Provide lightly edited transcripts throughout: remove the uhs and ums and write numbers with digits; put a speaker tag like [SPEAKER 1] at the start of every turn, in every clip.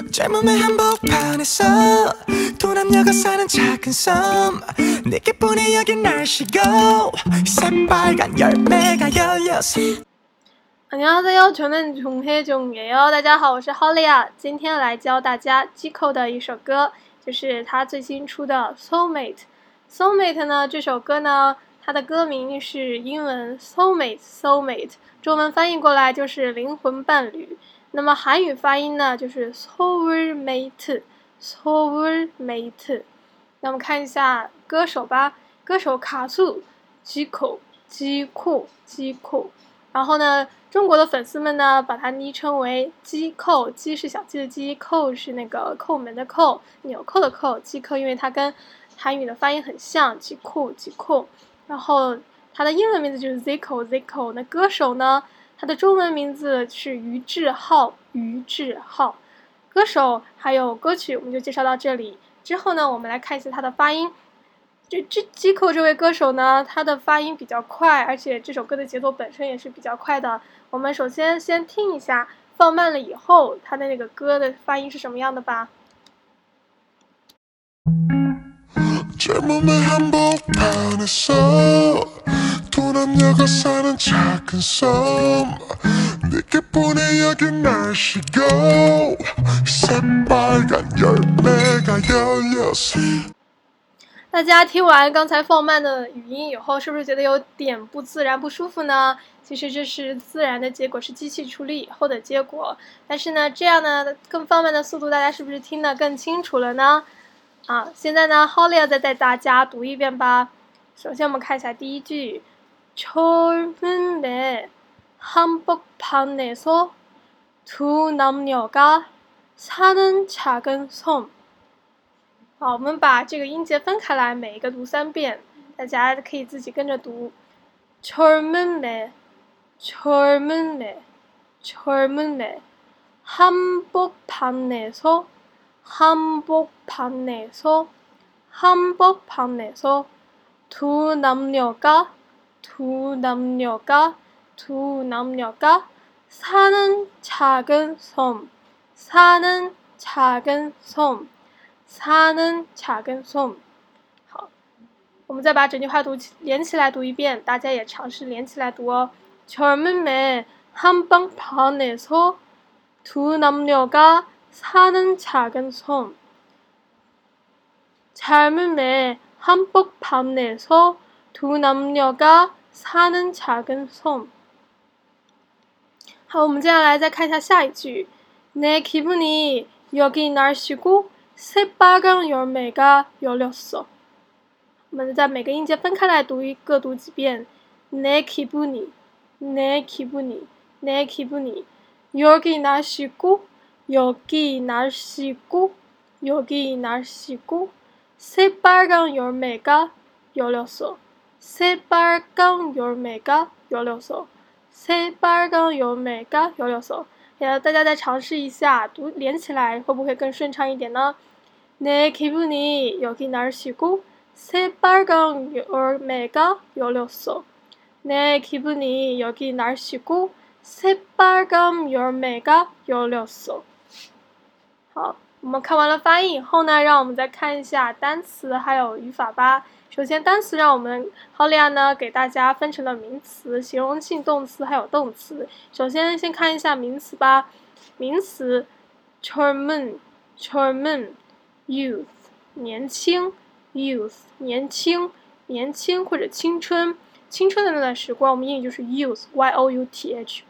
[SPEAKER 1] 젊음의 한복판에서 두 남녀가 사는 작은 섬 내게뿐이 여긴 날씨고 새빨간 열매가 열려서
[SPEAKER 2] 안녕하세요，저는 종혜종예요。大家好，我是 Holly， 今天来教大家 Zico 的一首歌，就是他最新出的 Soulmate。Soulmate 呢，这首歌呢，它的歌名是英文 Soulmate， 中文翻译过来就是灵魂伴侣。那么韩语发音呢，就是 Soulmate。那我们看一下歌手吧，歌手卡素 Zico。然后呢，中国的粉丝们呢，把它昵称为鸡扣，鸡是小鸡的鸡，扣是那个扣门的扣，纽扣的扣，鸡扣，因为它跟韩语的发音很像，鸡扣。然后它的英文名字就是 Zico。那歌手呢，他的中文名字是于志浩。歌手还有歌曲我们就介绍到这里。之后呢，我们来看一下他的发音。Zico 这位歌手呢，他的发音比较快，而且这首歌的节奏本身也是比较快的。我们首先听一下，放慢了以后，他的那个歌的发音是什么样的吧。
[SPEAKER 1] 젊음의 한복판에서 두 남녀가 사는 작은 섬 내게뿐이 여긴 날씨고 새빨간 열매가 열려서
[SPEAKER 2] 大家听完刚才放慢的语音以后，是不是觉得有点不自然、不舒服呢？其实这是自然的结果，是机器处理以后的结果。但是呢，这样呢更放慢的速度，大家是不是听得更清楚了呢？现在呢 Holly 再带大家读一遍吧。首先我们看一下第一句，젊은의 한복판에서 두 남녀가 사는 작은 섬。好，我们把这个音节分开来，每一个读3遍，大家可以自己跟着读。젊은의 한복판에서 두 남녀가 사는 작은 섬好，我们再把整句话连起来读一遍，大家也尝试连起来读哦。젊음의 한복판에서 두 남녀가 사는 작은 섬。젊음의 한복판에서 두 남녀가 사는 작은 섬。好，我们接下来再看一下下一句，내 기분이 여기 날씨고 새빨간 열매가 열렸어。我们在每个音节分开来读各读几遍。내 기분이 여기 날씨고 새빨간 열매가 열렸어。大家再尝试一下读连起来，会不会更顺畅一点呢？내 기분이 여기 날씨고 새빨간 열매가 열렸어。 내 기분이 여기 날씨고 새빨간 열매가 열렸어。 好，我们看完了发音以后呢，让我们再看一下单词还有语法吧。首先单词让我们 Holly 呢给大家分成了名词、形容性动词还有动词。首先看一下名词吧。名词 젊은 youth 年轻 年轻或者青春的那段时光，我们英语就是 youth youth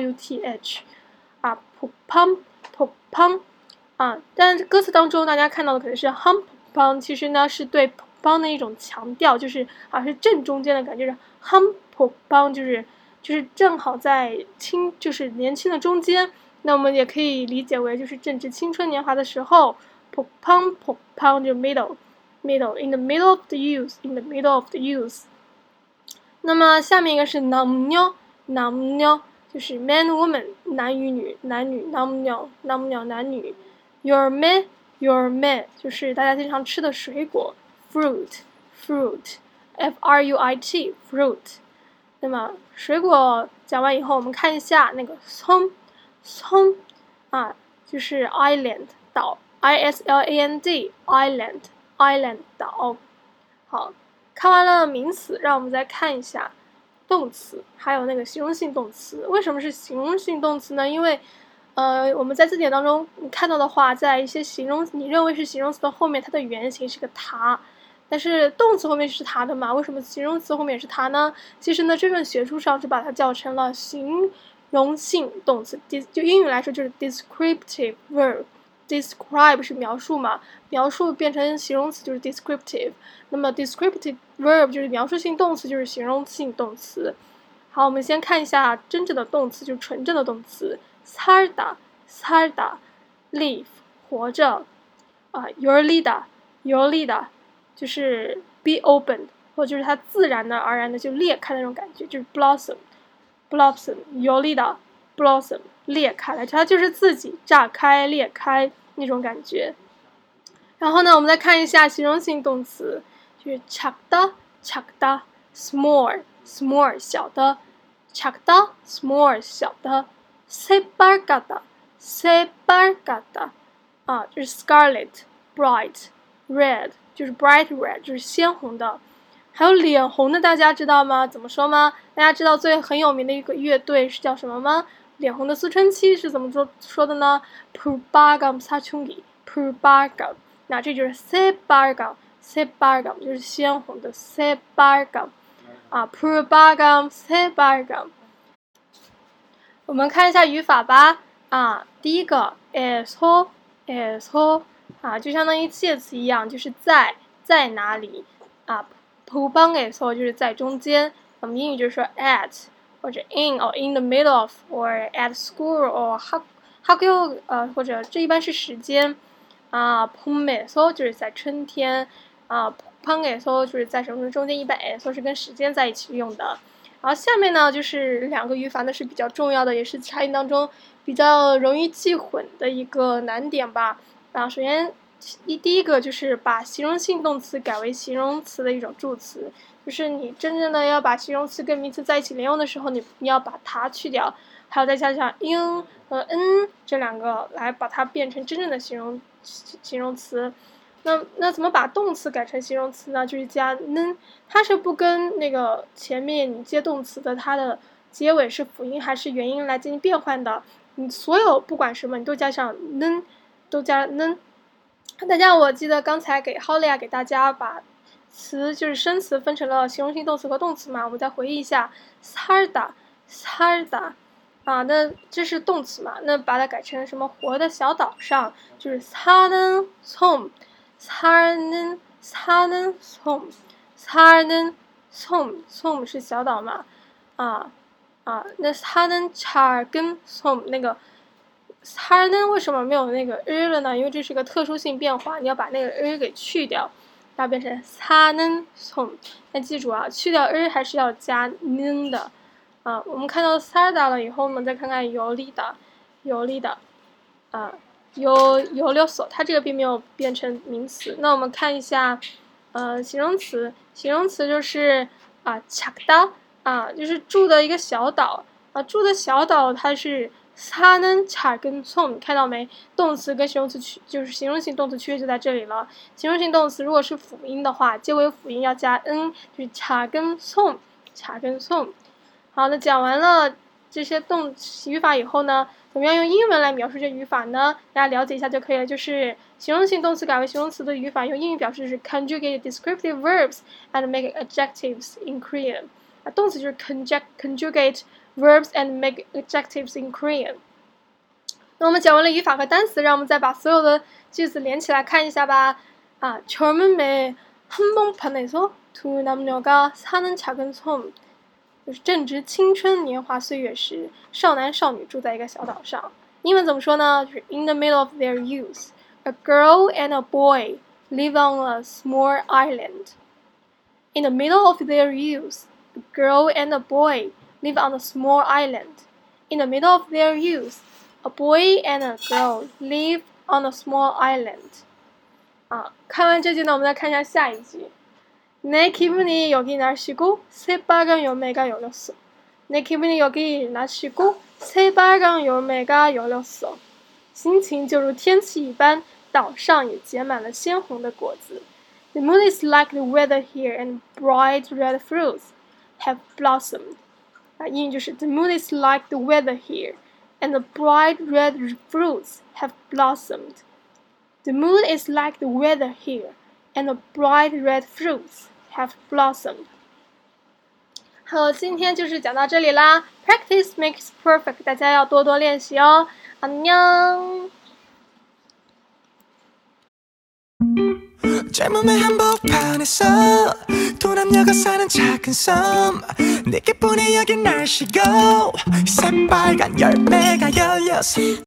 [SPEAKER 2] 폭팡但歌词当中大家看到的可能是 한복판， 其实呢是对 邦的一种强调，就是是正中间的感觉，是 한복판， 就是正好在就是年轻的中間。那我们也可以理解为就是正值青春年华的时候， 폭팡就 middle in the middle of the youth。 那么下面一个是 남녀， 就是 man woman 男与女남녀男女。 열매就是大家经常吃的水果， fruit fruit那么水果讲完以后，我们看一下那个松就是 island 岛 ，island island 岛。好，看完了名词，让我们再看一下动词，还有那个形容性动词。为什么是形容性动词呢？因为我们在字典当中看到的话，在一些你认为是形容词的后面，它的原型是个它，但是动词后面是它的嘛？为什么形容词后面也是它呢？其实呢，真正学术上就把它叫成了形容性动词，就英语来说就是 descriptive verb。describe 是描述嘛，描述变成形容词就是 descriptive， 那么 descriptive verb 就是描述性动词，就是形容性动词。好，我们先看一下真正的动词，就是纯正的动词。살다 live 活着열리다就是 be opened， 或者就是它自然的而然的就裂开的那种感觉，就是 blossom 열리다 blossom 裂开来，它就是自己炸开裂开那种感觉。然后呢，我们再看一下形容性动词，就是 작다 small 小的작다 small 小的새빨갛다就是 scarlet bright red 就是 bright red 就是鲜红的。还有脸红的大家知道吗？怎么说吗？大家知道很有名的一个乐队是叫什么吗？脸红的思春期是怎么说的呢？ 푸르빨간 사춘기 푸르빨간， 那这就是 새빨간 就是鲜红的 새빨간 푸르빨간 새빨간。我们看一下语法吧。第一个 에서 就相当于介词一样，就是在哪里부방에서就是在中间。我们英语就是说 at 或者 in or in the middle of or at school or 학교或者这一般是时间봄에서就是在春天봄방에서就是在什么中间，一般 에서是跟时间在一起用的。然后下面呢就是两个语法，那是比较重要的，也是差异当中比较容易记混的一个难点吧。首先第一个就是把形容性动词改为形容词的一种助词，就是你真正的要把形容词跟名词在一起连用的时候，你要把它去掉，还有再加上 in 和 n 这两个来把它变成真正的形容词。那怎么把动词改成形容词呢？就是加 n， 它是不跟那个前面你接动词的它的结尾是辅音还是元音来进行变换的。你所有不管什么你都加上 n， 都加 n。大家我记得刚才给 Holly 给大家把词就是生词分成了形容性动词和动词嘛，我们再回忆一下 살다那这是动词嘛，那把它改成什么活的小岛上，就是 사는 섬 섬是小岛嘛那 사는 작은 섬那个 사는为什么没有那个 了呢？因为这是个特殊性变化，你要把那个给去掉，要变成 사는 섬。那记住去掉还是要加 는的我们看到 살다了以后，我们再看看열리다 열렸어，它这个并没有变成名词。那我们看一下形容词就是작다就是住的一个小岛住的小岛它是 사는 작은 섬， 看到没？动词跟形容词就是形容性动词区别就在这里了。形容性动词如果是辅音的话，结尾辅音要加 n， 就是작은 섬。好，那讲完了这些语法以后呢，怎么样用英文来描述这语法呢？大家了解一下就可以了。就是形容性动词改为形容词的语法，用英语表示是 conjugate descriptive verbs and make adjectives in Korean。动词就是 conjugate verbs and make adjectives in Korean。那我们讲完了语法和单词，让我们再把所有的句子连起来看一下吧。젊은 매 한복판에서 두 남녀가 사는 작은 섬。就是正值青春年华岁月时，少男少女住在一个小岛上。英文怎么说呢？就是 In the middle of their youth, a girl and a boy live on a small island. In the middle of their youth, a girl and a boy live on a small island. In the middle of their youth, a boy and a girl live on a small island. 看完这句呢，我们再看一下下一句。내 기분이 여기 날씨고 새빨간 열매가 열렸어. 내 기분이 여기 날씨고 새빨간 열매가 열렸어. 心情就如天气一般，岛上也结满了鲜红的果子。The moon is like the weather here, and bright red fruits have blossomed. 英语就是 The moon is like the weather here, and the bright red fruits have blossomed. The moon is like the weather here, and the bright red fruits have blossomed. 好，今天就是讲到这里啦。Practice makes perfect， 大家要多多练习哦。안녕。
[SPEAKER 3] 젊음의 한복판에서 두 남녀가 사는 작은 섬 내게뿐이 여긴 날씨고 새빨간 열매가 열렸어